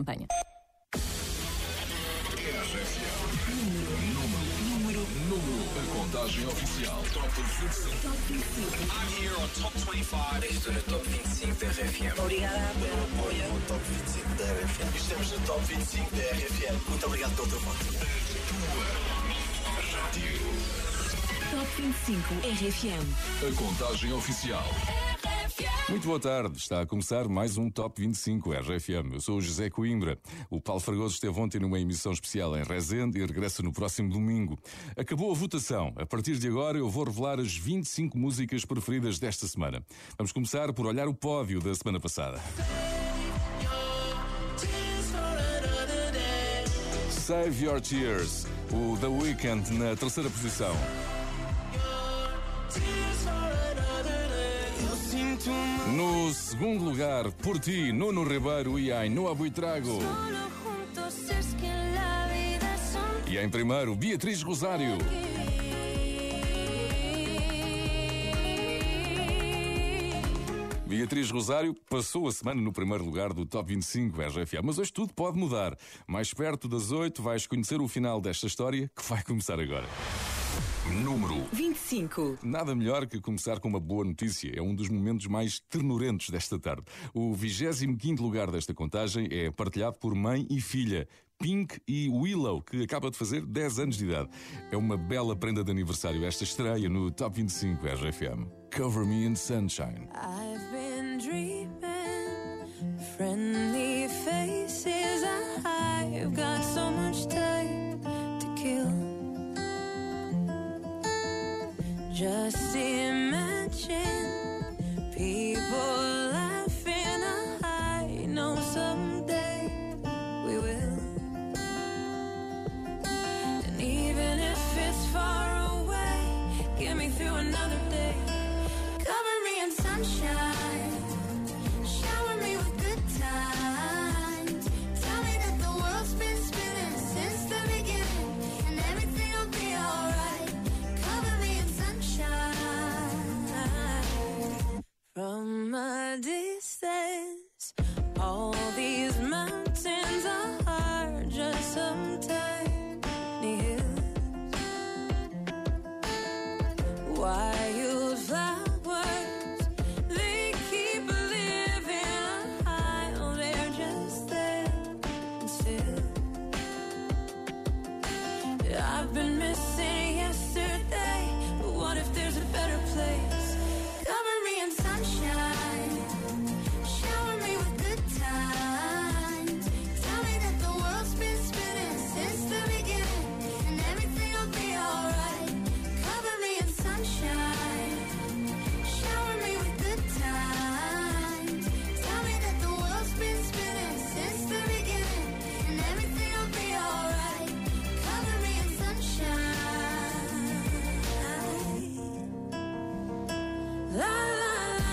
campanha. A contagem oficial. Top 25. Top 25. I'm here on Top 25. Estou no Top 25 da RFM. Obrigada pelo apoio. No Top 25 da RFM. Estamos no Top 25 da RFM. Muito obrigado pelo teu voto. Rádio. Top 25 RFM. A contagem oficial. Muito boa tarde, está a começar mais um Top 25 RFM. Eu sou o José Coimbra. O Paulo Fragoso esteve ontem numa emissão especial em Resende e regressa no próximo domingo. Acabou a votação. A partir de agora eu vou revelar as 25 músicas preferidas desta semana. Vamos começar por olhar o pódio da semana passada. Save Your Tears, o The Weeknd na terceira posição. No segundo lugar, Por Ti, Nuno Ribeiro e Ainhoa Buitrago. E em primeiro, Beatriz Rosário. Beatriz Rosário passou a semana no primeiro lugar do Top 25 RFA, mas hoje tudo pode mudar. Mais perto das 8 vais conhecer o final desta história que vai começar agora. Número 25. Nada melhor que começar com uma boa notícia. É um dos momentos mais ternurentos desta tarde. O 25º lugar desta contagem é partilhado por mãe e filha, Pink e Willow, que acaba de fazer 10 anos de idade. É uma bela prenda de aniversário esta estreia no Top 25 RFM. Cover Me in Sunshine. I've been dreaming, friendly faces, I've got so much time to kill. Just imagine people laughing. I know someday we will. And even if it's far away, get me through another day. Cover me in sunshine, shower me with good times. Tell me that the world's been spinning since the beginning, and everything will be alright. From a distance, all these mountains are just some tiny hills. Wildflowers, they keep living high, oh, they're just there and still. I've been missing yesterday, but what if there's a better place? Cover me in sunshine, shower me with good times. Tell me that the world's been spinning since the beginning, and everything will be alright. Cover me in sunshine, shower me with good times. Tell me that the world's been spinning since the beginning, and everything will be alright. Cover me in sunshine. La la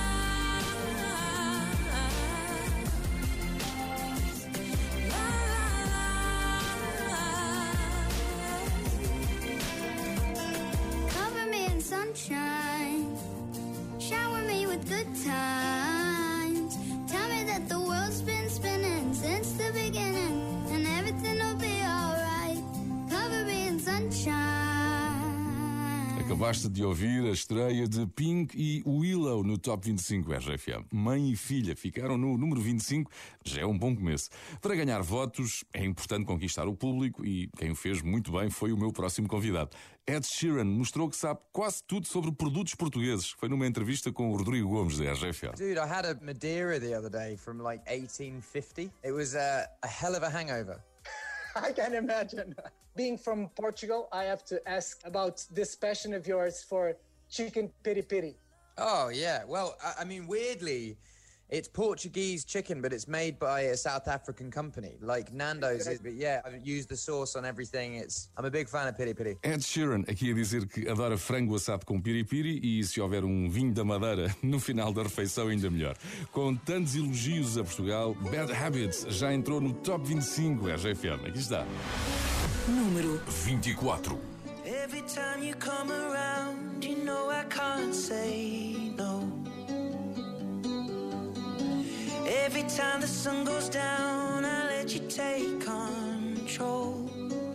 Cover me in sunshine, shower me with good times. Tell me that the world's been spinning since the beginning, and everything will be alright. Cover me in sunshine. Acabaste de ouvir a estreia de Pink e Willow no Top 25 RFM. Mãe e filha ficaram no número 25, já é um bom começo. Para ganhar votos é importante conquistar o público e quem o fez muito bem foi o meu próximo convidado. Ed Sheeran mostrou que sabe quase tudo sobre produtos portugueses. Foi numa entrevista com o Rodrigo Gomes da RFM. Dude, I had a Madeira the other day from like 1850. It was a hell of a hangover. I can imagine. Being from Portugal, I have to ask about this passion of yours for chicken piri piri. Oh, yeah. Well, I mean, weirdly, it's Portuguese chicken, but it's made by a South African company, like Nando's is. But yeah, I've used the sauce on everything. I'm a big fan of piri piri. Ed Sheeran aqui a dizer que adora frango assado com piripiri e se houver um vinho da Madeira no final da refeição ainda melhor. Com tantos elogios a Portugal, Bad Habits já entrou no Top 25 RFM. Aqui está. Número 24. Every time you come around, you know I can't say no. Every time the sun goes down, I let you take control.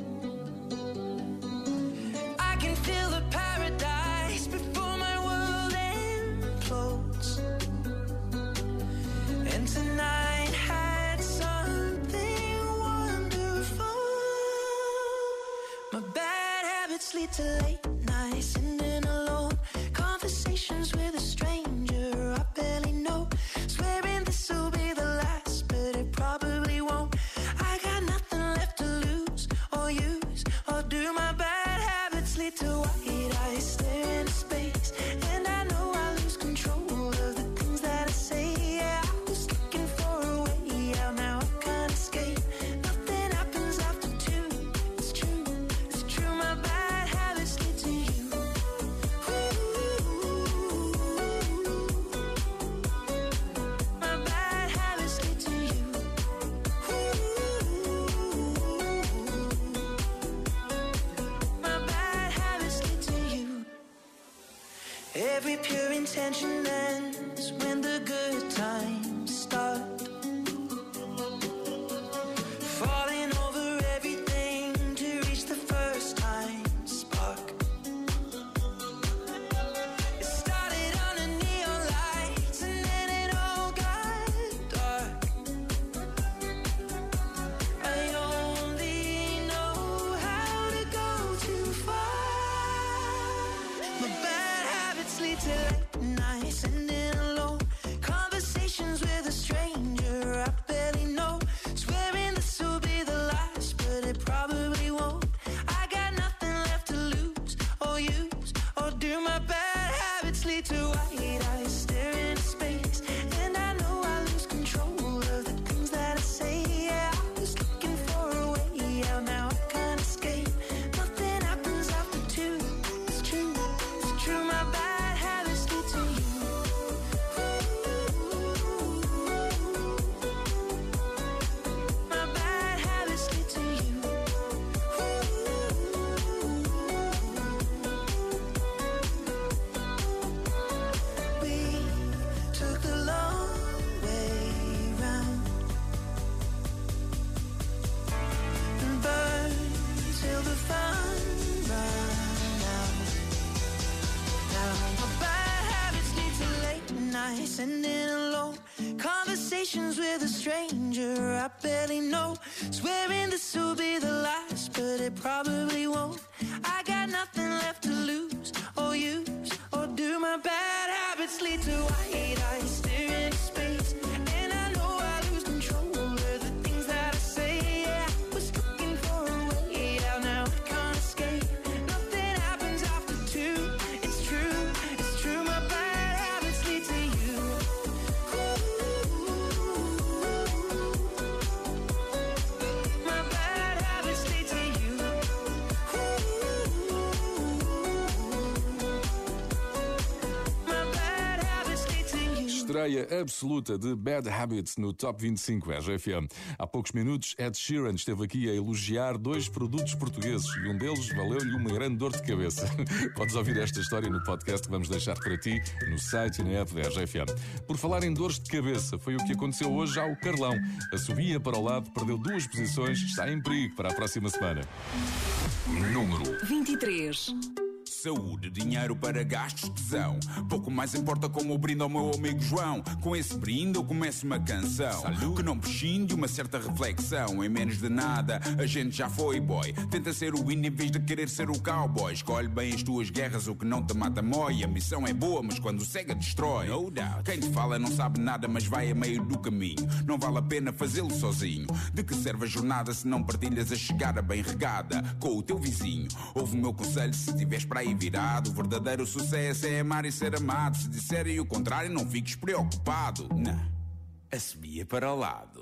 I can feel the paradise before my world implodes. And tonight had something wonderful. My bad habits lead to late nights, sitting alone, conversations with a stranger I barely know, swearing this will be the last, but it probably won't. I got nothing left to lose or use or do. My bad habits lead to white eyes staring into space, and I know I lose control of the things that I say. Yeah, I was looking for a way out, now I can't escape. Nothing happens after two. It's true, it's true. My bad habits lead to you. My bad habits lead to you. My bad habits lead to you. Every pure intention ends when the good times start. Falling over everything to reach the first time spark. It started under neon lights and then it all got dark. I only know how to go too far. My bad habits lead to late nights, sitting alone, conversations with a stranger I barely know, swearing this will be the last, but it probably won't. I got nothing left to lose or use or do. My bad habits lead to white eyes staring into space, and I know I lose control of the things that I say. Yeah, I was looking for a way out, now I can't escape. Nothing happens after two. It's true, it's true. My bad habits lead to you. My bad habits lead to you. We took the long way round and burned till the fun ran out. Now my bad habits lead to late nights, sitting alone, conversations with a stranger I barely know, swearing this will be the last, but it probably won't. I got nothing left to lose or use or do. My bad habits lead to white eyes staring into space, and I know I lose control of the things that I say. Yeah, I was looking for a way out, now I can't escape. Nothing happens after two. It's true, it's true. My bad habits lead to you. My bad habits lead to you. My bad habits lead to you. Estreia absoluta de Bad Habits no Top 25 RFM. Há poucos minutos, Ed Sheeran esteve aqui a elogiar dois produtos portugueses e um deles valeu-lhe uma grande dor de cabeça. Podes ouvir esta história no podcast que vamos deixar para ti no site e na app da RFM. Por falar em dores de cabeça, foi o que aconteceu hoje ao Carlão. A subia para o lado, perdeu 2 posições, está em perigo para a próxima semana. Número 23. Saúde, dinheiro para gastos, tesão. Pouco mais importa como eu brindo ao meu amigo João. Com esse brinde eu começo uma canção. Salud. Que não prescinde uma certa reflexão. Em menos de nada a gente já foi boy. Tenta ser o hino em vez de querer ser o cowboy. Escolhe bem as tuas guerras, o que não te mata mói. A missão é boa, mas quando cega destrói. No doubt. Quem te fala não sabe nada, mas vai a meio do caminho. Não vale a pena fazê-lo sozinho. De que serve a jornada se não partilhas a chegada bem regada com o teu vizinho? Ouve o meu conselho se estiveres para aí virado. O verdadeiro sucesso é amar e ser amado. Se disserem o contrário, não fiques preocupado. Não, assobia para o lado.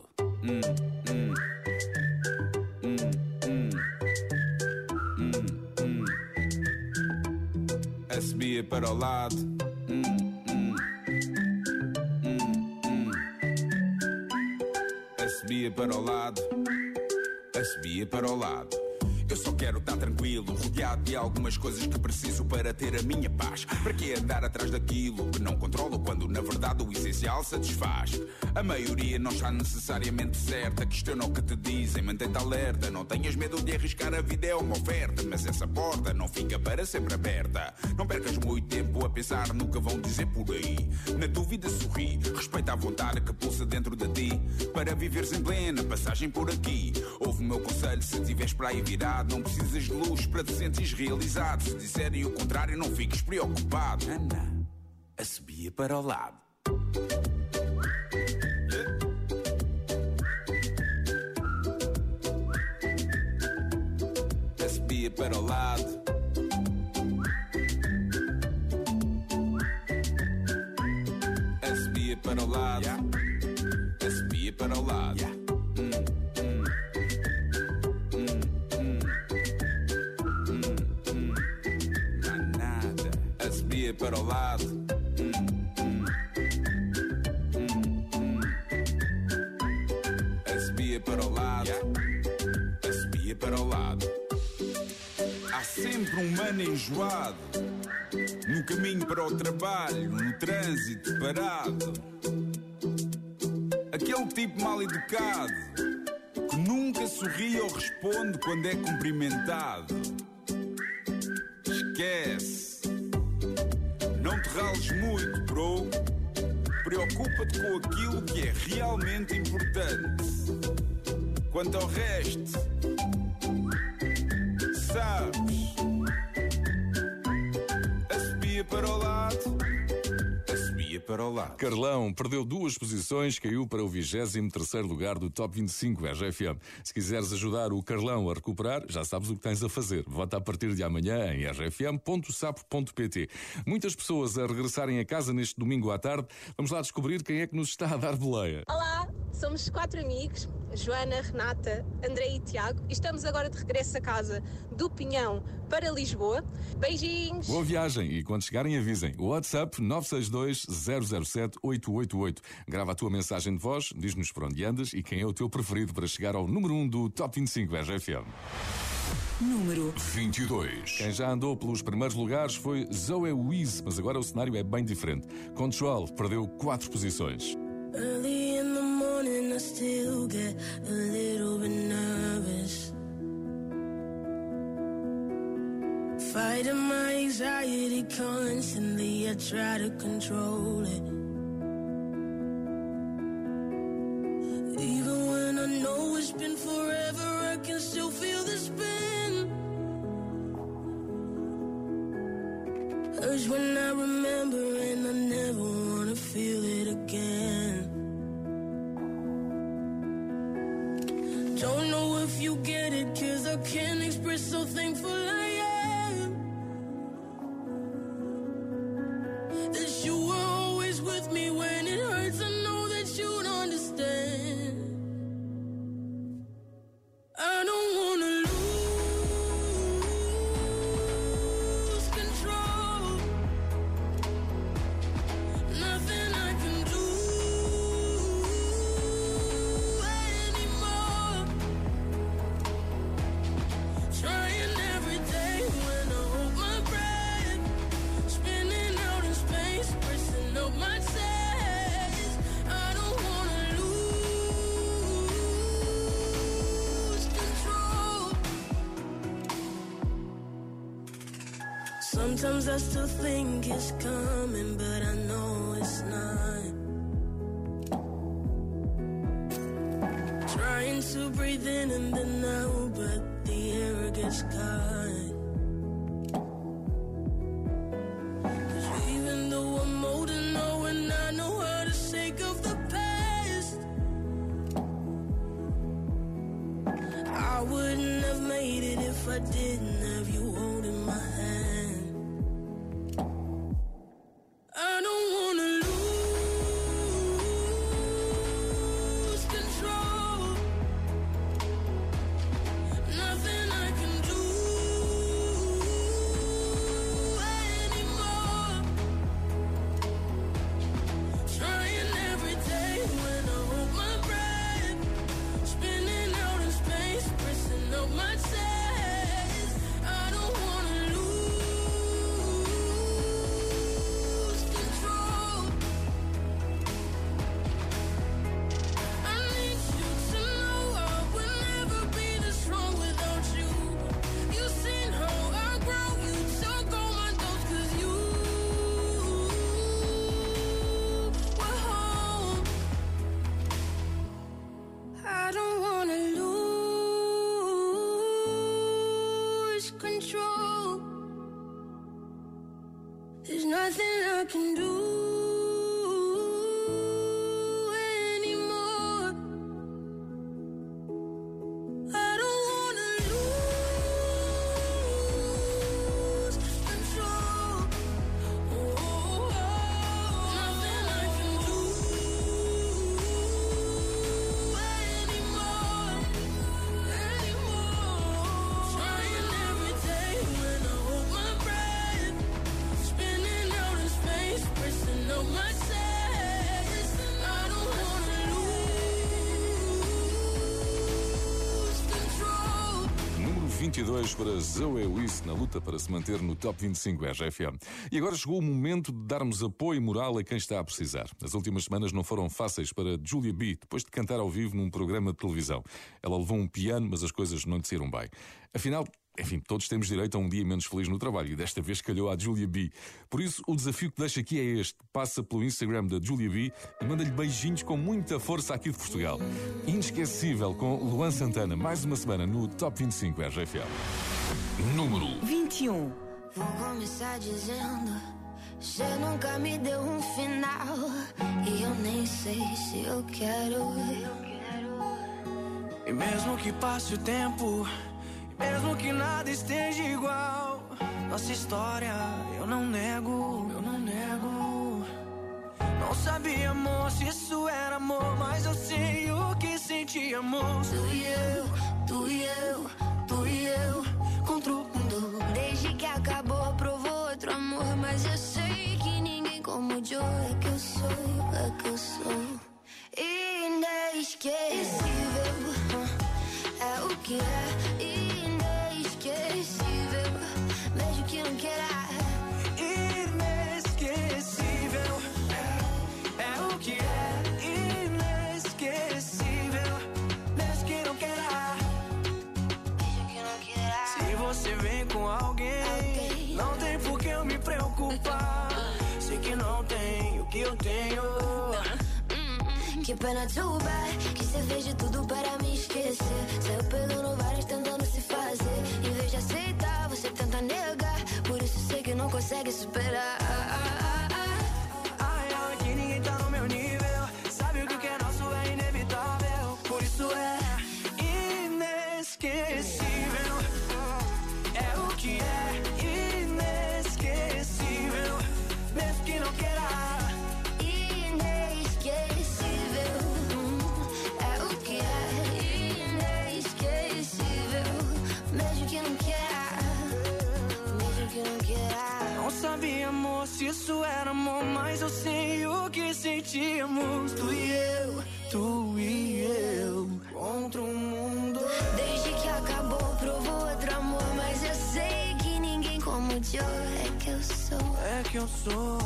Assobia para o lado. Assobia para o lado. Assobia para o lado. Eu só quero estar tranquilo, rodeado de algumas coisas que preciso para ter a minha paz. Para que andar atrás daquilo que não controlo quando na verdade o essencial satisfaz? A maioria não está necessariamente certa. Questiona o que te dizem, mantém-te alerta. Não tenhas medo de arriscar, a vida é uma oferta. Mas essa porta não fica para sempre aberta. Não percas muito tempo a pensar no que vão dizer por aí. Na dúvida sorri, respeita a vontade que pulsa dentro de ti. Para viveres em plena passagem por aqui. Ouve o meu conselho, se estiveres para aí virado, não precisas de luz para te sentires realizado. Se disserem o contrário, não fiques preocupado. Ana, a subia para o lado. A subia para o lado. A subia para o lado. A subia para o lado. Para o lado. A subia para o lado. A subia para o lado. Há sempre um mano enjoado no caminho para o trabalho, no trânsito parado. Aquele tipo mal educado que nunca sorri ou responde quando é cumprimentado. Esquece. Não te rales muito, bro. Preocupa-te com aquilo que é realmente importante. Quanto ao resto, sabes, a subia para o lado. A subia para o lado. Carlão perdeu 2 posições, caiu para o 23º lugar do Top 25 RFM. Se quiseres ajudar o Carlão a recuperar, já sabes o que tens a fazer. Vota a partir de amanhã em rfm.sapo.pt. Muitas pessoas a regressarem a casa neste domingo à tarde. Vamos lá descobrir quem é que nos está a dar boleia. Olá, somos 4 amigos, Joana, Renata, André e Tiago, e estamos agora de regresso a casa do Pinhão para Lisboa. Beijinhos! Boa viagem e quando chegarem avisem. O WhatsApp 962-007-888. Grava a tua mensagem de voz, diz-nos por onde andas e quem é o teu preferido para chegar ao número 1 do Top 25 RFM. Número 22. Quem já andou pelos primeiros lugares foi Zoe Wiz, mas agora o cenário é bem diferente. Control perdeu 4 posições. Early in the morning, I still get a little bit nervous. Fighting my anxiety constantly, I try to control it. Even when I know it's been forever, I can still feel the spin. Urge when I remember and I never wanna feel it again. Don't know if you get it, 'cause I can't express so thankful I am that you were always with me when it hurts. I know that you'd understand. I don't wanna lose control. Nothing I can do anymore. Trying every day when I hold my breath, spinning out in space, pressing up my chest. I don't wanna lose control. Sometimes I still think it's coming, but I know it's not. Trying to breathe in and then out, but the air gets caught. 'Cause even though I'm older now and I know how to shake off the past, I wouldn't have made it if I didn't have you holding my hand. I don't wanna lose control. Nothing I can do anymore. Trying every day when I hold my breath, spinning out in space, pressing up my chest. nothing I can do anymore. I don't wanna lose control. Nothing I can do anymore. Trying every day when I hold my breath, spinning out in space, pressing on my chest. I don't wanna lose control. Número 22 para Zoe Wiss na luta para se manter no Top 25 RFM. E agora chegou o momento de darmos apoio moral a quem está a precisar. As últimas semanas não foram fáceis para Julia B, depois de cantar ao vivo num programa de televisão. Ela levou um piano, mas as coisas não lhe saíram bem. Afinal, enfim, todos temos direito a um dia menos feliz no trabalho e desta vez calhou à Julia B. Por isso, o desafio que deixo aqui é este. Passa pelo Instagram da Julia B e manda-lhe beijinhos com muita força aqui de Portugal. Inesquecível com Luan Santana, mais uma semana no Top 25 RFM. Número 21. Vou começar dizendo: você nunca me deu um final, e eu nem sei se eu quero. E mesmo que passe o tempo, mesmo que nada esteja igual, nossa história eu não nego, eu não nego. Não sabia, amor, se isso era amor, mas eu sei o que senti, amor. Tu e eu, tu e eu, tu e eu, contra o mundo. Desde que acabou, provou outro amor, mas eu sei que ninguém como o Joe. É que eu sou, é que eu sou inesquecível. É o que é inesquecível, mesmo que não queira. Inesquecível, é o que é inesquecível, mesmo que não queira. Mesmo que não queira. Se você vem com alguém, não tem por que eu me preocupar. Sei que não tem o que eu tenho. Que pena, too bad, que você fez de tudo para me esquecer. Saiu pegando várias tentando se fazer. Em vez de aceitar, você tenta negar. Por isso sei que não consegue superar. Ai, ai, que ninguém tá no meu nível. Sabe o que é nosso é inevitável. Por isso é inesquecível. É o que é inesquecível, mesmo que não queira. Não sabia, amor, se isso era amor, mas eu sei o que sentimos. Tu e eu, contra o mundo. Desde que acabou, provou outro amor, mas eu sei que ninguém como o Joe. É que eu sou, é que eu sou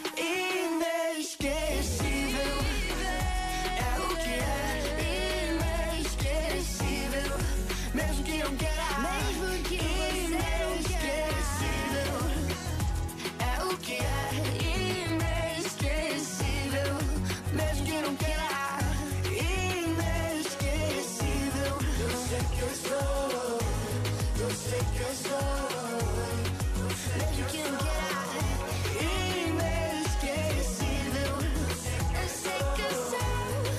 inesquecível. É o que é inesquecível, mesmo que não queira. mesmo que você não queira. É o que é inesquecível, mesmo que não queira. Inesquecível. Eu sei que eu sou, eu sei que eu sou. Mesmo que não queira. Inesquecível. Eu sei que eu sou.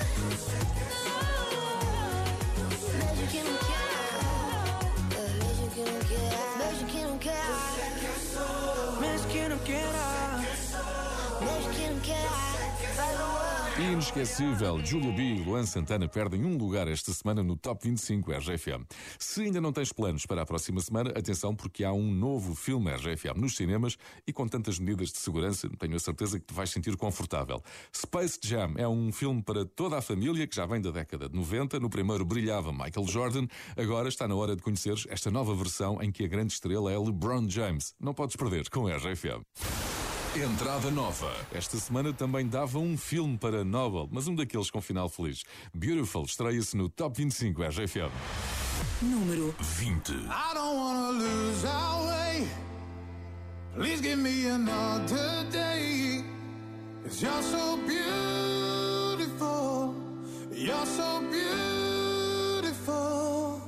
Mesmo que não queira. Mesmo que não queira. Mesmo que não queira. Mesmo que não queira. Mesmo que não queira. Vai, Luan. Inesquecível, Julia B e Luan Santana perdem um lugar esta semana no Top 25 RFM. Se ainda não tens planos para a próxima semana, atenção porque há um novo filme RFM nos cinemas e com tantas medidas de segurança, tenho a certeza que te vais sentir confortável. Space Jam é um filme para toda a família que já vem da década de 90. No primeiro brilhava Michael Jordan, agora está na hora de conheceres esta nova versão em que a grande estrela é LeBron James. Não podes perder com RFM. Entrada nova. Esta semana também dava um filme para Nobel, mas um daqueles com final feliz. Beautiful estreia-se no Top 25 RFM. Número 20. I don't wanna lose our way. Please give me another day. 'Cause you're so beautiful. You're so beautiful.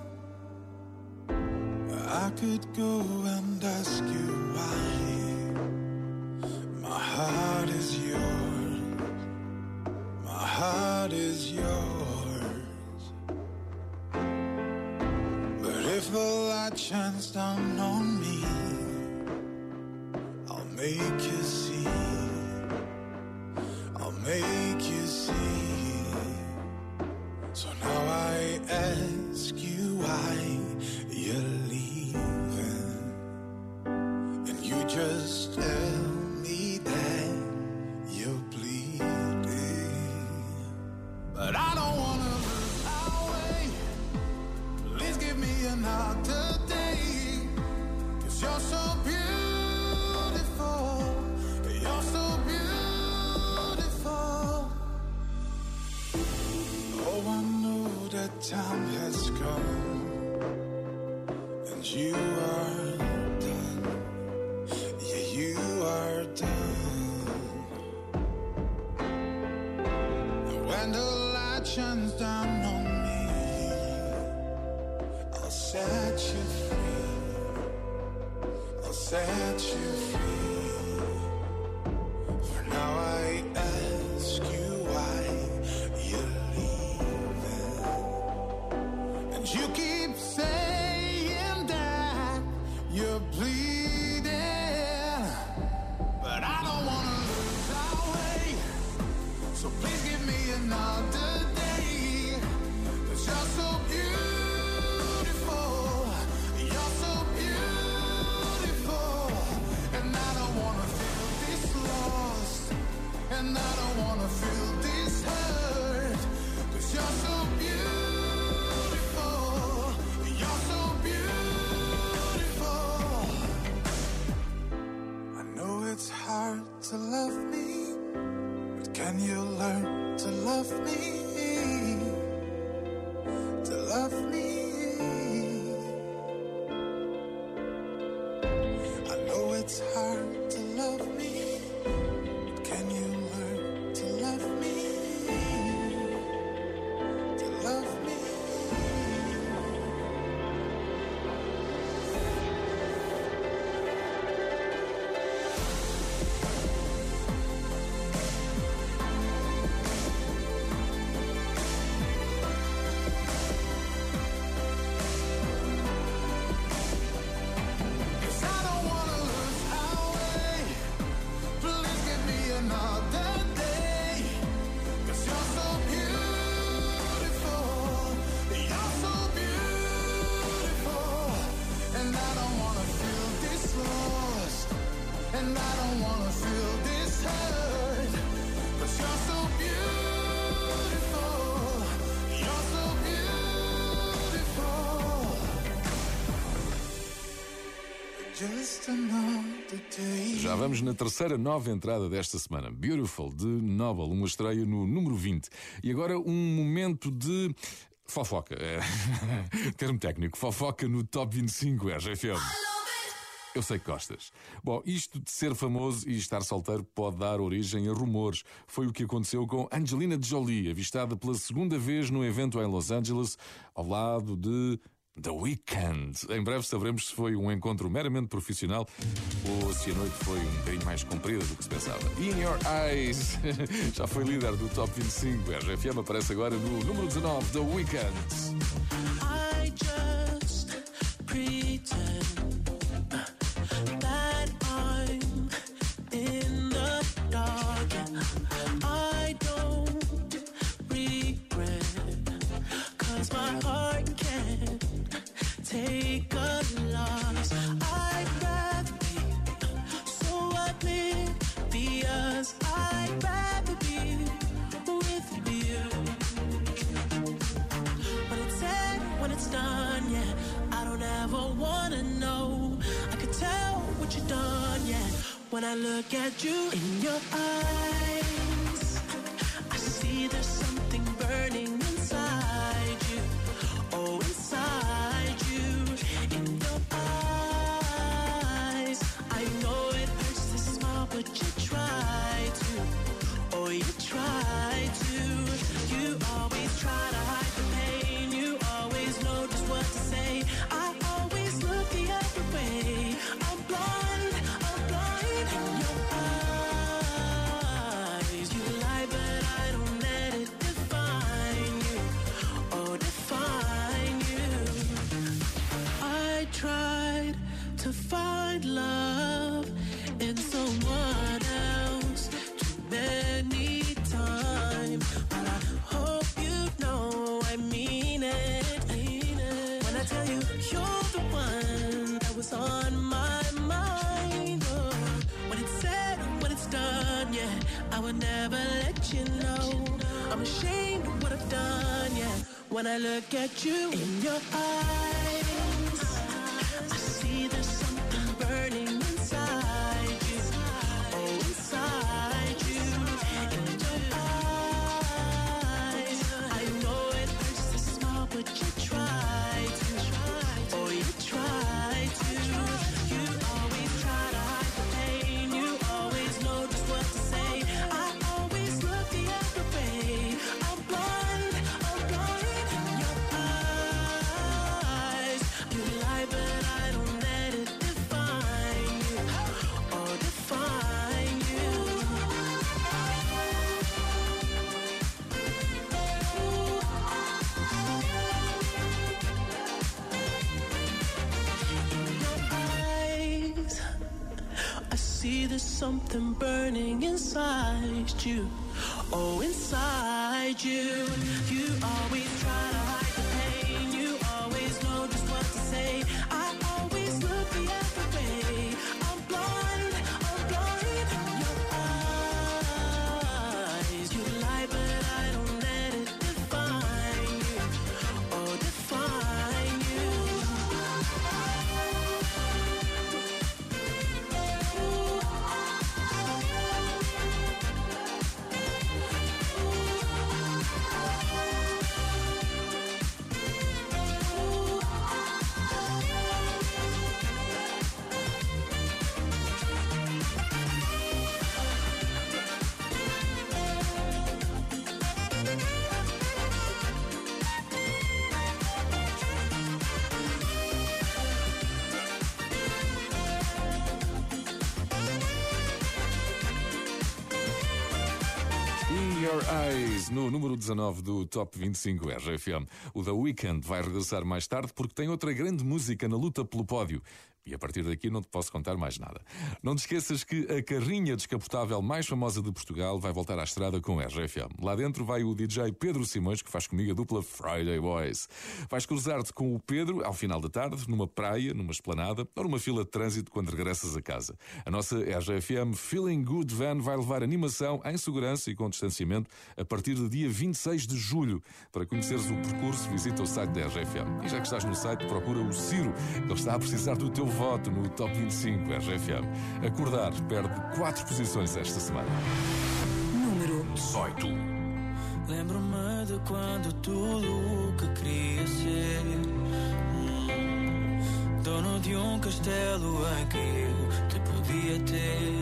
I could go and ask you why. My If the light shines down on me, I'll make you see. I'll make you see. So now I ask you why you're leaving, and you just tell me that you're bleeding. But I don't wanna lose our way. Please give me another day, 'cause you're so beautiful. You're so beautiful. Oh, I know that time has come, and you are done. Yeah, you are done. And when the light shines down on me, I'll set you free. I'll set you free. For now I ask you why you're leaving, and you keep saying that you're bleeding, but I don't wanna lose our way. So please give me another day, 'cause you're so beautiful. You're so beautiful. And I don't wanna feel this lost, and I don't wanna feel this hurt, 'cause you're so beautiful. You're so beautiful. I know it's hard to love me, but can you learn to love me? To love me. I know it's hard to love me, but can you learn to love me? To love me. Já vamos na terceira nova entrada desta semana. Beautiful, de Nobel, uma estreia no número 20. E agora um momento de fofoca. Termo técnico, fofoca no Top 25 RFM. Eu sei que gostas. Bom, isto de ser famoso e estar solteiro pode dar origem a rumores. Foi o que aconteceu com Angelina Jolie, avistada pela segunda vez num evento em Los Angeles, ao lado de The Weeknd. Em breve saberemos se foi um encontro meramente profissional ou se a noite foi um bocadinho mais comprida do que se pensava. In Your Eyes já foi líder do Top 25. A RFM aparece agora no número 19, The Weeknd. I just pretend that I'm in the dark. I don't regret, 'cause my heart can't take a loss. I'd rather be so oblivious. I'd rather be with you. When it's said, when it's done, yeah, I don't ever wanna know. I could tell what you've done, yeah. When I look at you in your eyes, I see there's something burning inside you. Oh, inside you, in your eyes. I know it hurts to smile, but you try to. Oh, you try to. You always try to hide the pain. You always know just what to say. I always look the other way. I'm blind in your eyes. You lie, but I don't let it I tell you, you're the one that was on my mind. Oh, when it's said, when it's done, yeah, I would never let you know. I'm ashamed of what I've done, yeah. When I look at you in your eyes, I see there's something burning inside you. Oh, inside you. In your eyes, I know it hurts to smile, but you try to. Oh, you try to. You always try to hide the pain. You always know just what to say. I always look the other way. I'm blind in your eyes. You lie, but I don't let it define you. Or define you. In your eyes, I see there's something burning inside you. Oh, inside you. You always try to hide the pain. You always know just what to say. I always look the other way. I'm blind in your eyes. You lie, but I don't let it define you. Oh, define you. In Your Eyes, no número 19 do Top 25 RFM. O The Weeknd vai regressar mais tarde porque tem outra grande música na luta pelo pódio. E a partir daqui não te posso contar mais nada. Não te esqueças que a carrinha descapotável mais famosa de Portugal vai voltar à estrada com RFM. Lá dentro vai o DJ Pedro Simões, que faz comigo a dupla Friday Boys. Vais cruzar-te com o Pedro ao final da tarde, numa praia, numa esplanada ou numa fila de trânsito quando regressas a casa. A nossa RFM Feeling Good Van vai levar animação em segurança e com distanciamento a partir do dia 26 de julho. Para conheceres o percurso, visita o site da RFM. E já que estás no site, procura o Ciro, que ele está a precisar do teu voto no Top 25 RFM. Acordar perde 4 posições esta semana. Número 18. Lembro-me de quando tudo o que queria ser dono de um castelo em que eu te podia ter.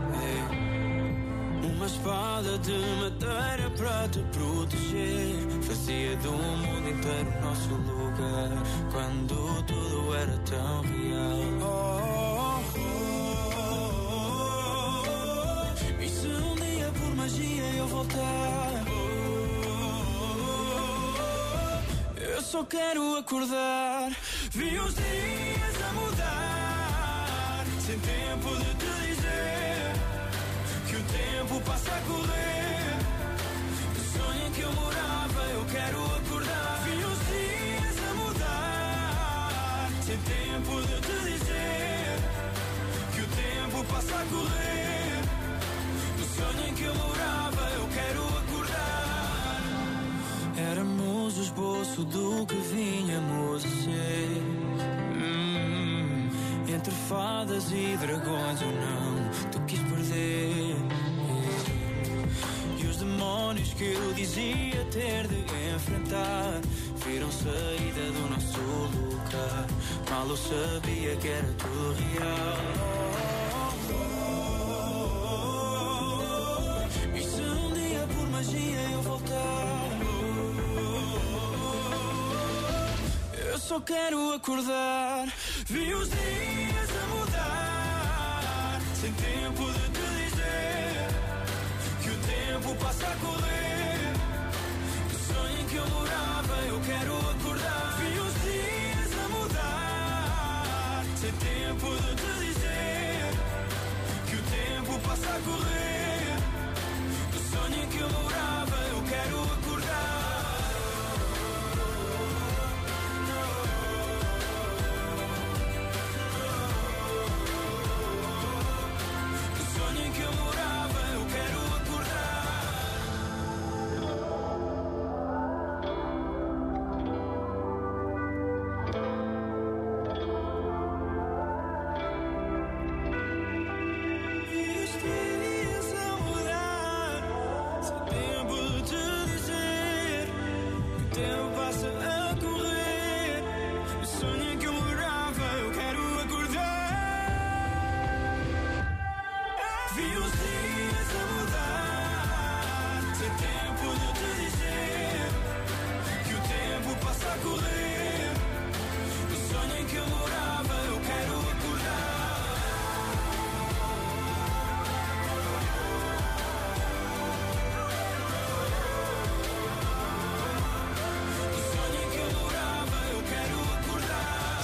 Uma espada de madeira para te proteger. Fazia do mundo inteiro nosso lugar quando tudo era tão real. E se um dia por magia eu voltar, eu só quero acordar. Vi os dias a mudar, sem tempo de te dizer que o tempo passa a correr. O sonho em que eu morava, eu quero acordar. Vi os dias a mudar, sem tempo de te dizer que o tempo passa a correr. O sonho em que eu morava, eu quero acordar. Éramos o esboço do que vinhamos a ser. Entre fadas e dragões eu não te quis perder. E os demónios que eu dizia ter de enfrentar viram saída do nosso lugar. Mal eu sabia que era tudo real. E se um dia por magia eu voltar, eu só quero acordar. Vi os dias a mudar, sem tempo de te dizer que o tempo passa a correr. O sonho em que eu morava, eu quero acordar. Vi os dias a mudar, sem tempo de te dizer que o tempo passa a correr. O sonho em que eu morava, eu quero acordar.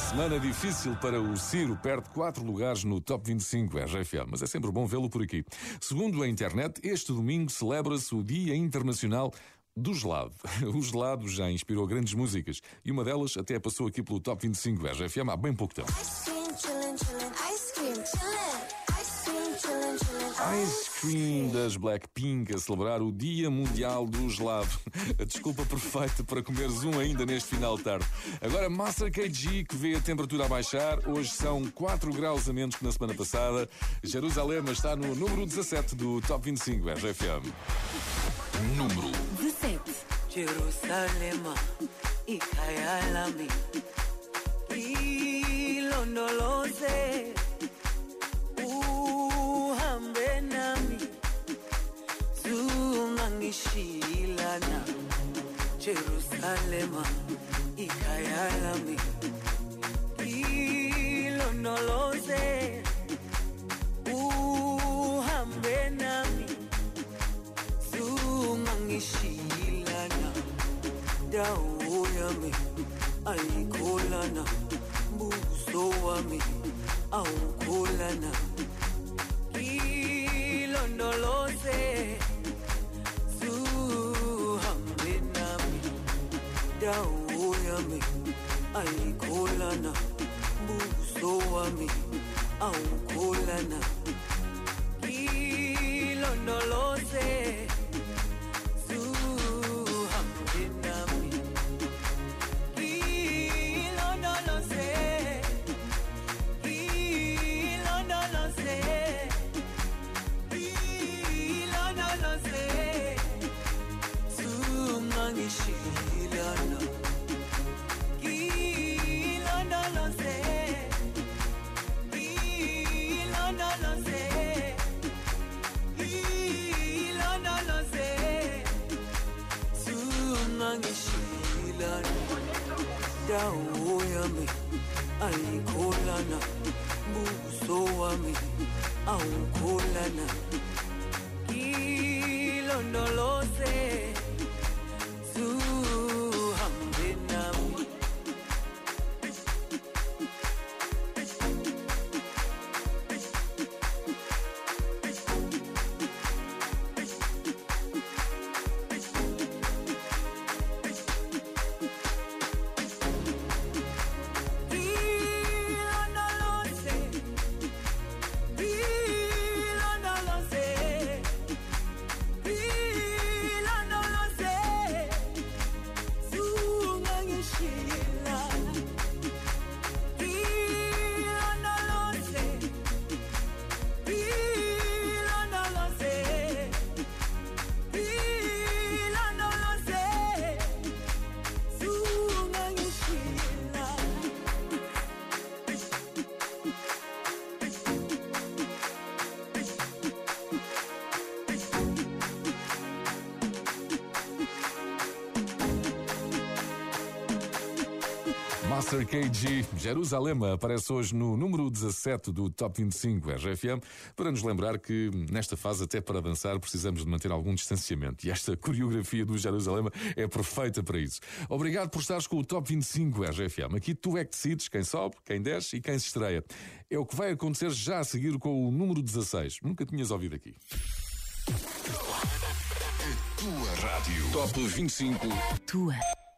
Semana difícil para o Ciro, perde 4 lugares no Top 25 RFM, mas é sempre bom vê-lo por aqui. Segundo a internet, este domingo celebra-se o Dia Internacional do Gelado. O gelado já inspirou grandes músicas e uma delas até passou aqui pelo Top 25 RFM há bem pouco tempo. Ice Cream das Blackpink a celebrar o Dia Mundial do Gelado. A desculpa perfeita para comeres um ainda neste final de tarde. Agora Master KG, que vê a temperatura a baixar. Hoje são 4 graus a menos que na semana passada. Jerusalém está no número 17 do Top 25 RFM. Número 17. Jerusalem, ikayalami, ilondoloze, uhambe nami, zungangishilana. Jerusalem, ikayalami, ilondoloze, uhambe nami, zungangishilana. Dawo yami ayikholana, buso wami awukholana. Ilondoloze, zuhambe nami. Dawo yami ayikholana, buso wami awukholana. Ilondoloze, dawo yami ayikholana, buso wami awukholana. Ilondoloze, zuhambe nami. Master KG, Jerusalém, aparece hoje no número 17 do Top 25 RFM, para nos lembrar que nesta fase, até para dançar, precisamos de manter algum distanciamento. E esta coreografia do Jerusalém é perfeita para isso. Obrigado por estares com o Top 25 RFM. Aqui tu é que decides quem sobe, quem desce e quem se estreia. É o que vai acontecer já a seguir com o número 16. Nunca tinhas ouvido aqui. A tua rádio. Top 25. Tua.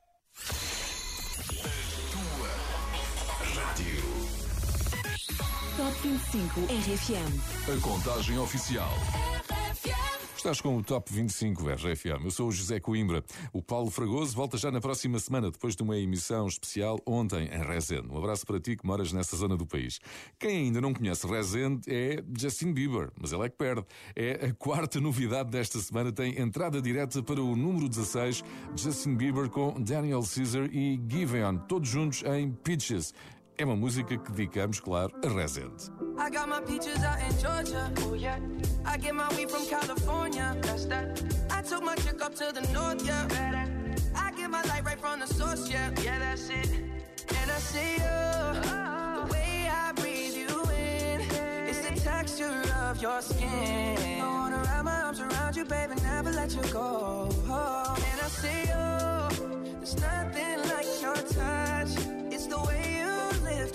Top 25 RFM. A contagem oficial. Estás com o Top 25 RFM. Eu sou o José Coimbra. O Paulo Fragoso volta já na próxima semana, depois de uma emissão especial ontem em Resende. Um abraço para ti que moras nessa zona do país. Quem ainda não conhece Resende é Justin Bieber, mas ele é que perde. É a quarta novidade desta semana, tem entrada direta para o número 16, Justin Bieber com Daniel Caesar e Giveon, todos juntos em Peaches. É uma música que dedicamos, claro, a Resende. I got my peaches out in Georgia, oh yeah. I get my weed from California, that's that. I took my chick up to the north, yeah. I get my light right from the source, yeah. Yeah, that's it. And I see you, the way I breathe you in. It's the texture of your skin. I wanna wrap my arms around you, baby, never let you go. And I see you, there's nothing like your touch. It's the way you live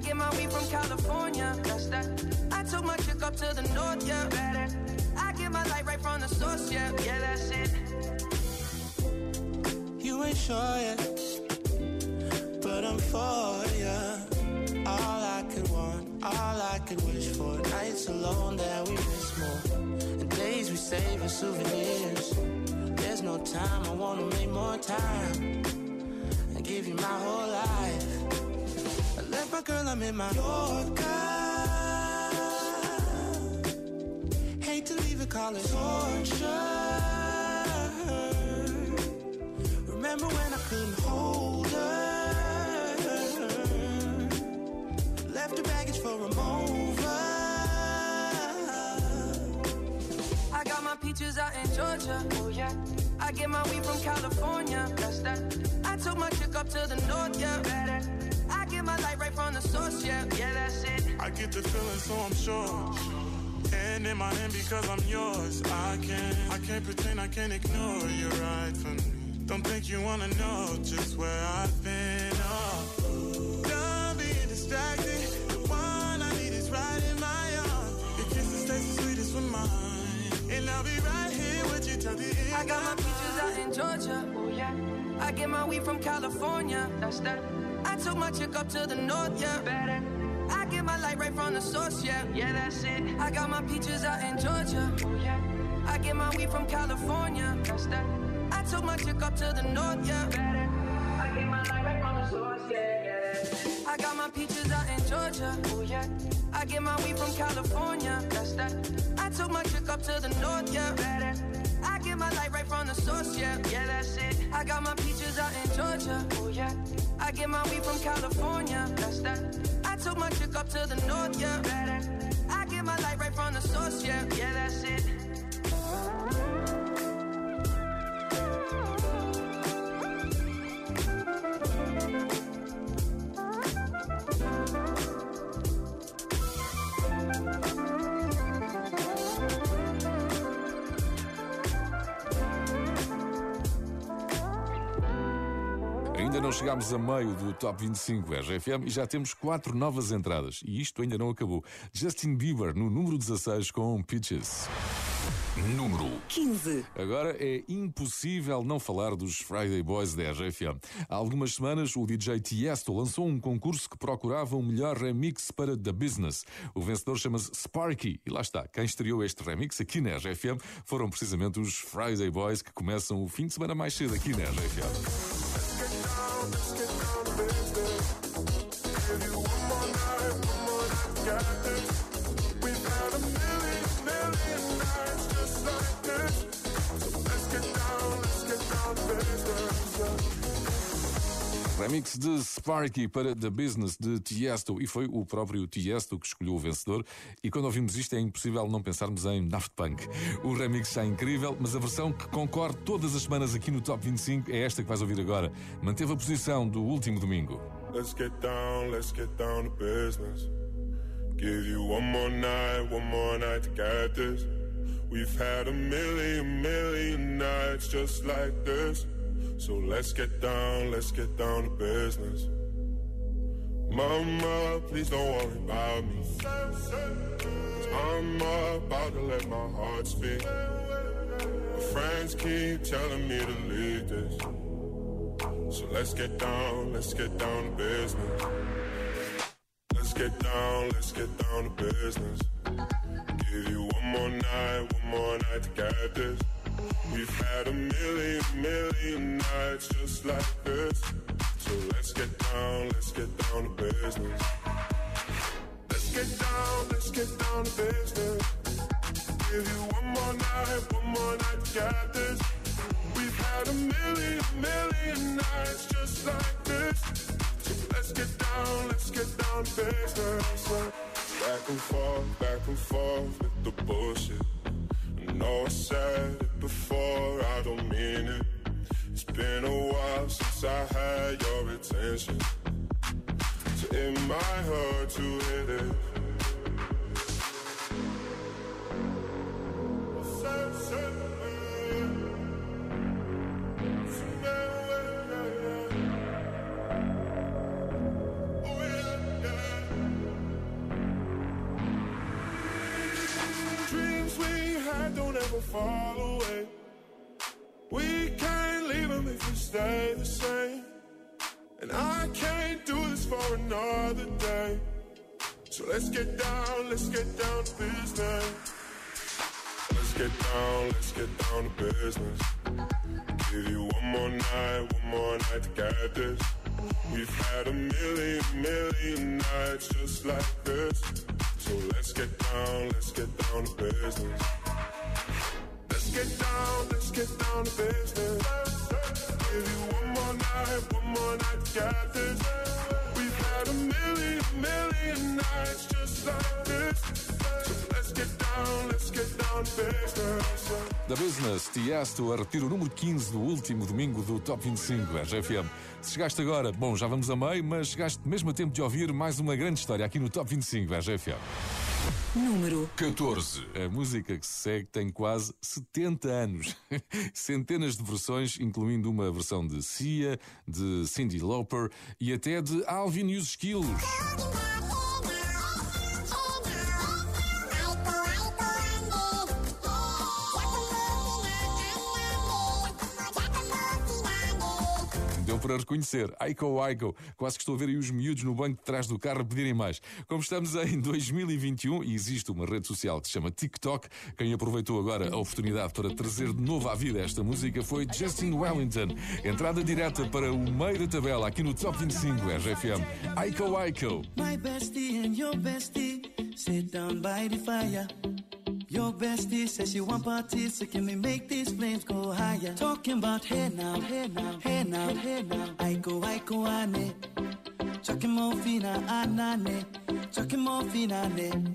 get my weed from California. That's that. I took my chick up to the north, yeah. Better. I get my light right from the source, yeah. Yeah, that's it. You ain't sure yet, but I'm for ya. All I could want, all I could wish for. Nights alone that we miss more, and days we save as souvenirs. There's no time, I wanna make more time and give you my whole life. I left my girl, I'm in my Yorker. Hate to leave it, call it torture. Remember when I couldn't hold her? Left her baggage for a mover. I got my peaches out in Georgia. Oh yeah. I get my weed from California. That's that. I took my chick up to the north, yeah. Better. I get my light right from the source, yeah. Yeah, that's it. I get the feeling, so I'm sure. And in my hand because I'm yours. I can't pretend, I can't ignore you right from me. Don't think you wanna know just where I've been. Oh, done being distracted. The one I need is right in my arms. Your kisses taste the sweetest with mine, and I'll be right here with you till the end. I got my peaches out in Georgia. Oh yeah. I get my weed from California. That's that. I took my chick up to the north, yeah. Better. I get my light right from the source, yeah. Yeah, that's it. I got my peaches out in Georgia. Oh yeah. I get my weed from California. That's that. I took my chick up to the north, yeah. Better. I get my light right from the source, yeah, yeah. I got my peaches out in Georgia. Oh yeah. I get my weed from California. That's that. I took my chick up to the north, yeah. Better. I get my light right from the source, yeah. Yeah, that's it. I got my peaches out in Georgia. Oh yeah. I get my weed from California. That's that. I took my chick up to the north, yeah. Better. I get my light right from the source, yeah. Yeah, that's it. Ainda não chegámos a meio do Top 25 RFM e já temos 4 novas entradas. E isto ainda não acabou. Justin Bieber no número 16 com Peaches. Número 15. Agora é impossível não falar dos Friday Boys da RFM. Há algumas semanas o DJ Tiesto lançou um concurso que procurava o melhor remix para The Business. O vencedor chama-se Sparky e lá está. Quem estreou este remix aqui na RFM foram precisamente os Friday Boys, que começam o fim de semana mais cedo aqui na RFM. Remix de Sparky para The Business de Tiesto, e foi o próprio Tiesto que escolheu o vencedor. E quando ouvimos isto é impossível não pensarmos em Daft Punk. O remix está incrível, mas a versão que concorre todas as semanas aqui no Top 25 é esta que vais ouvir agora. Manteve a posição do último domingo. Let's get down to business. Give you one more night to get this. We've had a million nights just like this. So let's get down to business. Mama, please don't worry about me. 'Cause I'm about to let my heart speak. My friends keep telling me to leave this. So let's get down to business. Let's get down to business. Give you one more night to get this. We've had a million nights just like this. So let's get down to business. Let's get down to business. Give you one more night to get this. We've had a million nights just like this. So let's get down to business. Back and forth with the bullshit. I know I said it before, I don't mean it. It's been a while since I had your attention. So it might hurt to hit it. fall away. We can't leave them if we stay the same. And I can't do this for another day. So let's get down to business. Let's get down to business. Give you one more night to get this. We've had a million nights just like this. So let's get down to business. Let's get down to business. Give you one more night to get this. We've had a million nights just like this. So let's get down to business. Da Business, Tiesto a repetir o número 15 do último domingo do Top 25 RFM. Se chegaste agora, bom, já vamos a meio, mas chegaste mesmo a tempo de ouvir mais uma grande história aqui no Top 25 RFM. Número 14. A música que se segue tem quase 70 anos. Centenas de versões, incluindo uma versão de Sia, de Cyndi Lauper e até de Alvin e os Esquilos. Deu para reconhecer. Aiko Aiko. Quase que estou a ver aí os miúdos no banco de trás do carro a pedirem mais. Como estamos em 2021 e existe uma rede social que se chama TikTok, quem aproveitou agora a oportunidade para trazer de novo à vida esta música foi Justin Wellington. Entrada direta para o meio da tabela aqui no Top 25 RFM. Aiko Aiko. My bestie and your bestie sit down by the fire. Your bestie says she want parties, so can we make these flames go higher? Talking about hey now, hey now, hey now, hey now. Aiko, ane. Chucking more fina, anane. Chucking more fina, ane.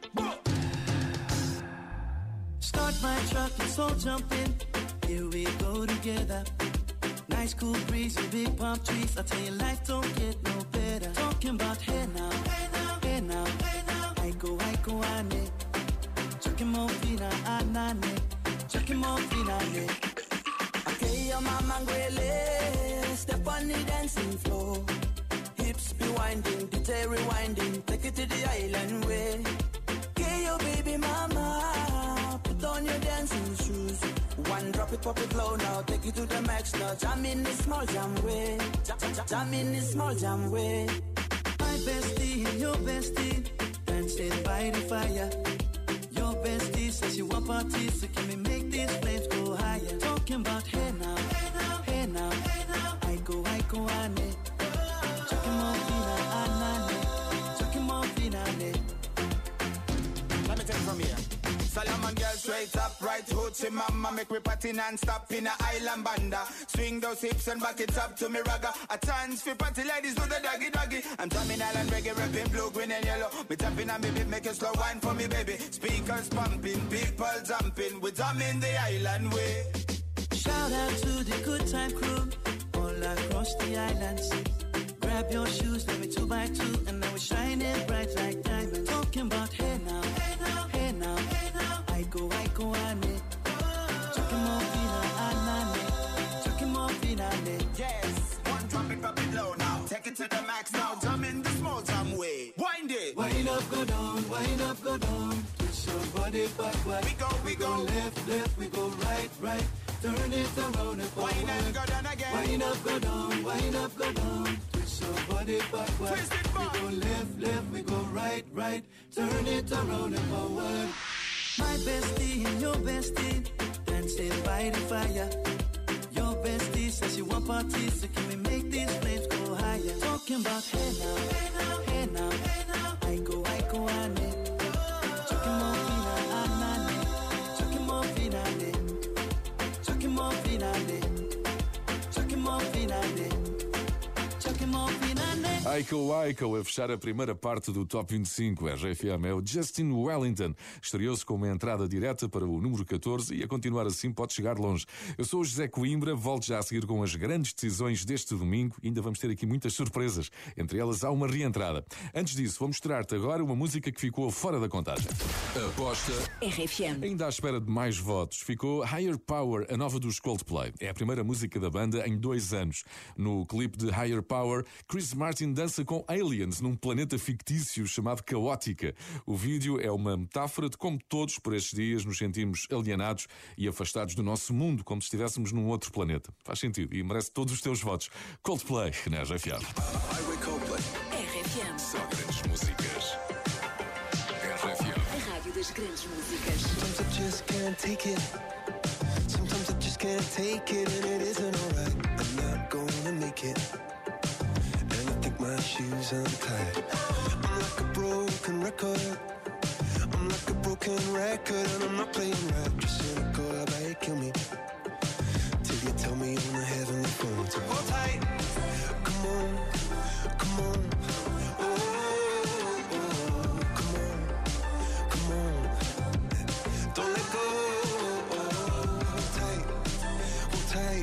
Start my truck, let's all jump in. Here we go together. Nice cool breeze and big palm trees. I tell you, life don't get no better. Talking about hey now, hey now, hey now, hey now. Aiko, ane. Chucking more fina, anane. Chucking more fina, ane. Okay, your mama ngwele. Step on the dancing floor. Hips be winding, DJ rewinding. Take it to the island way. Okay, your baby mama. Put on your dancing shoes. One drop it, pop it low now. Take it to the max now. Jam in the small jam way. Jam in the small jam way. My bestie and your bestie dancing by the fire. Your bestie says you want parties, so can we make these flames go higher? Talking about hey now, hey now, hey now, hey now. Aiko, ane. Chucking more fina, anane. Chucking more fina, ane. Let me take it from here. Solomon girl straight up, right hoochie mama. Make me party non-stop in a island banda. Swing those hips and back it up to me ragga. A chance for party ladies do the doggy doggy. I'm drumming island reggae, rapping blue, green and yellow. Me tapping on me beat, make a slow wine for me baby. Speakers pumping, people jumping. We drumming the island way. Shout out to the good time crew all across the islands. Grab your shoes, let me 2x2, and now we're shining bright like diamonds. Talking about hey now, hey now, hey now, hey now. Aiko, ane. Chucking more fina, anane. Chucking more fina, ane. Yes, one drop it, pop it low now. Take it to the max now. Jump in the small jam way. Wind it. Wind up, go down, wind up, go down. Twist your body backward. We go left, we go right. Turn it around and forward. Wind up, go down again. Wind up, go down, wind up, go down. Twist your body backward. Twist it back. We go left, we go right. Turn it around and forward. My bestie and your bestie dancing by the fire. Your bestie says she want parties, so can we make these flames go higher? Talking about hey now, hey now, hey now, hey now. Aiko, ane. Chucking more fina, anane. Chucking more fina, ane. Chucking more fina, ane. Chucking more fina, ane. Chucking more fina, ane. Aiko a fechar a primeira parte do Top 25 RFM é o Justin Wellington. Estreou-se com uma entrada direta para o número 14 e a continuar assim pode chegar longe. Eu sou o José Coimbra, volto já a seguir com as grandes decisões deste domingo e ainda vamos ter aqui muitas surpresas. Entre elas há uma reentrada. Antes disso, vou mostrar-te agora uma música que ficou fora da contagem. Aposta RFM. Ainda à espera de mais votos, ficou Higher Power, a nova dos Coldplay. É a primeira música da banda em 2 anos. No clipe de Higher Power, Chris Martin dança dança com aliens num planeta fictício chamado Caótica. O vídeo é uma metáfora de como todos por estes dias nos sentimos alienados e afastados do nosso mundo, como se estivéssemos num outro planeta. Faz sentido e merece todos os teus votos. Coldplay na RFM. RFM. Só grandes músicas. RFM. A rádio das grandes músicas. Sometimes I just can't take it. Sometimes I just can't take it, and it isn't alright. I'm not gonna make it. And I think my shoes untied. I'm like a broken record. I'm like a broken record, and I'm not playing right. Just cynical, how about you kill me? Till you tell me on the heavenly phone to hold tight. Come on, come on. Oh, come on, come on. Don't let go. Hold tight, hold tight.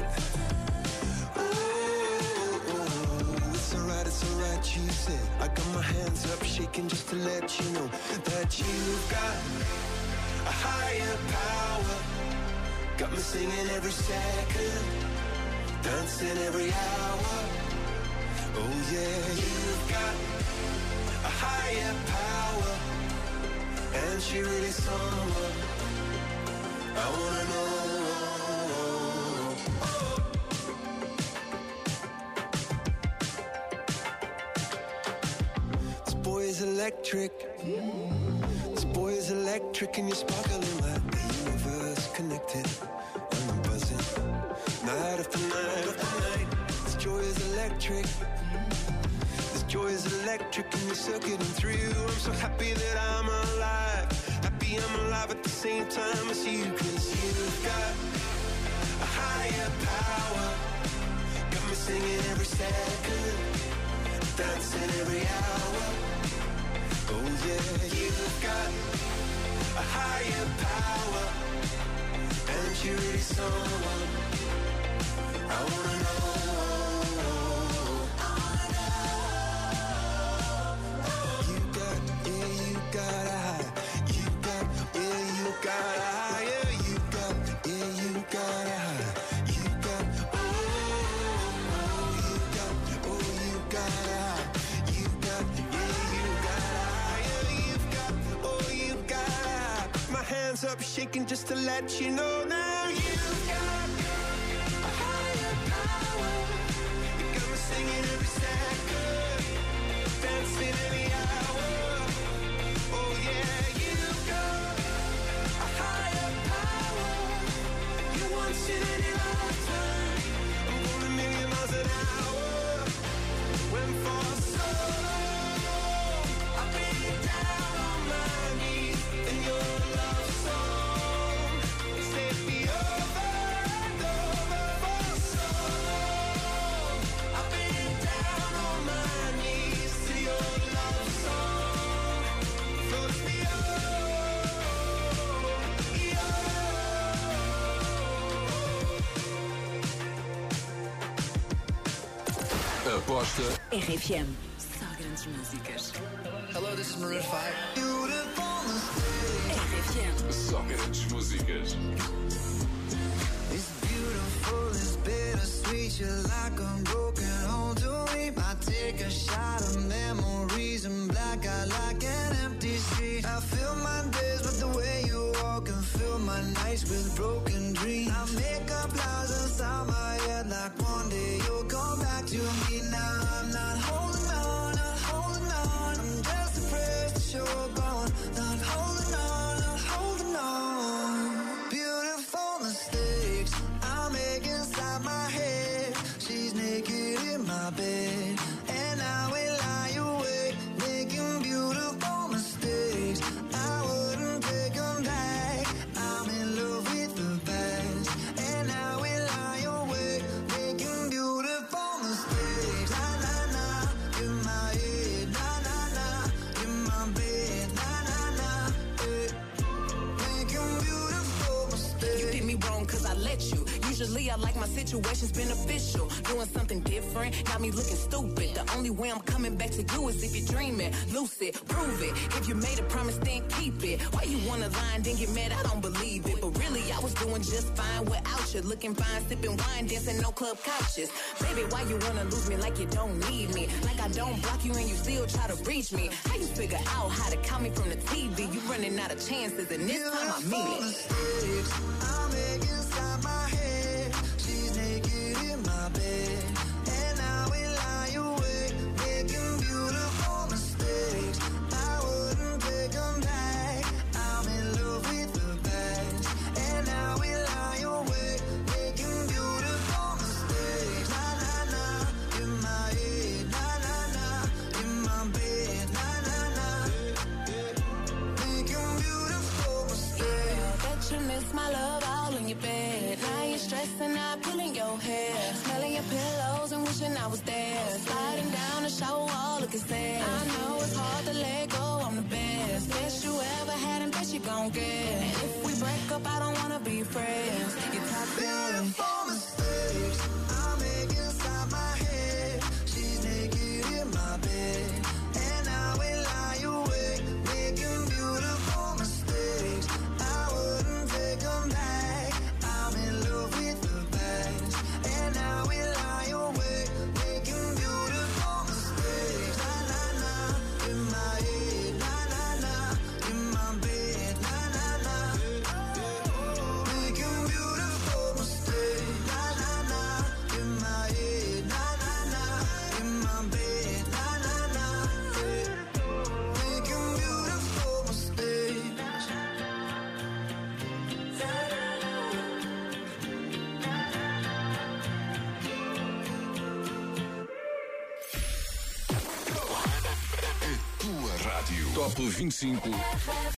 Oh, it's alright, you said. I got my hands up shaking just to let you know that you've got a higher power. Got me singing every second, dancing every hour. Oh yeah, you've got a higher power, and she really someone I wanna know. This boy is electric. This boy is electric, and you're sparkling like the universe connected. And I'm buzzing night after night after night. This joy is electric. This joy is electric, and you're circuiting through. I'm so happy that I'm alive. Happy I'm alive at the same time as you, 'cause you've got a higher power. Got me singing every second, dancing every hour. Oh yeah, you've got a higher power, and you're really someone I wanna know. You got a high. You got a higher. You got a high. You got you got a high. You got higher. You got my hands up shaking just to let you know now. You've got a higher power. You got me singing every second, dancing every hour. Oh yeah, you've got a higher power. You once in any lifetime. I'm going a million miles an hour. Went for so long, I've been down on my knees in your love song. Set me over and over for so long. I've been down on my knees to your love song. Floats me Aposta RFM. Só grandes músicas. Hello, this is Maroon 5. RFM. Só grandes músicas. It's beautiful, it's bittersweet. You're like a broken home to me. I take a shot of memories and black out like an empty street. I fill my days with the way you walk and fill my nights with broken dreams. I make up lies inside my head like one day you'll come back to me. Now I'm not holding on, not holding on. I'm just depressed that you're gone. Not holding on, not holding on. Beautiful mistakes I make inside my head. She's naked in my bed, and I will lie awake, making beautiful mistakes. I wouldn't take them back. I'm in love with the past, and I will lie awake, making beautiful mistakes. Na na na, in my head. Na na na, in my bed. Na na na, making beautiful mistakes. You did me wrong 'cause I let met you. Usually I like my situations beneficial. Doing something different, got me looking stupid. The only way I'm coming back to you is if you're dreaming. Lucid, prove it. If you made a promise, then keep it. Why you wanna lie and then get mad? I don't believe it. But really, I was doing just fine without you. Looking fine, sipping wine, dancing no club couches. Baby, why you wanna lose me like you don't need me? Like I don't block you and you still try to reach me. How you figure out how to count me from the TV? You running out of chances and this time I mean it. I make inside my head. She's naked in my bed, and I will lie awake, making beautiful mistakes. I wouldn't take them back. I'm in love with the past, and I will lie awake, making beautiful mistakes. Na na na, in my head. Na na na, in my bed. Na na na, making beautiful mistakes. I bet you miss my love all in your bed. Now you're stressing out, pulling your hair, smelling your pillows and wishing I was there. Sliding down the shower wall, looking sad. I know it's hard to let go, I'm the best. Best you ever had and best you gon' get. And if we break up, I don't wanna be friends. You're toxic. Beautiful mistakes I make inside my head. She's naked in my bed, and I will lie awake, making beautiful mistakes. I wouldn't take them back. I'm in love with the past, and I will lie awake, making beautiful mistakes. Na na na, in my head. Na na na, in my bed. Na na na, making beautiful mistakes. Na na na, in my head. Na na na, in my bed. Na na na, making beautiful mistakes. Tua rádio. Top 25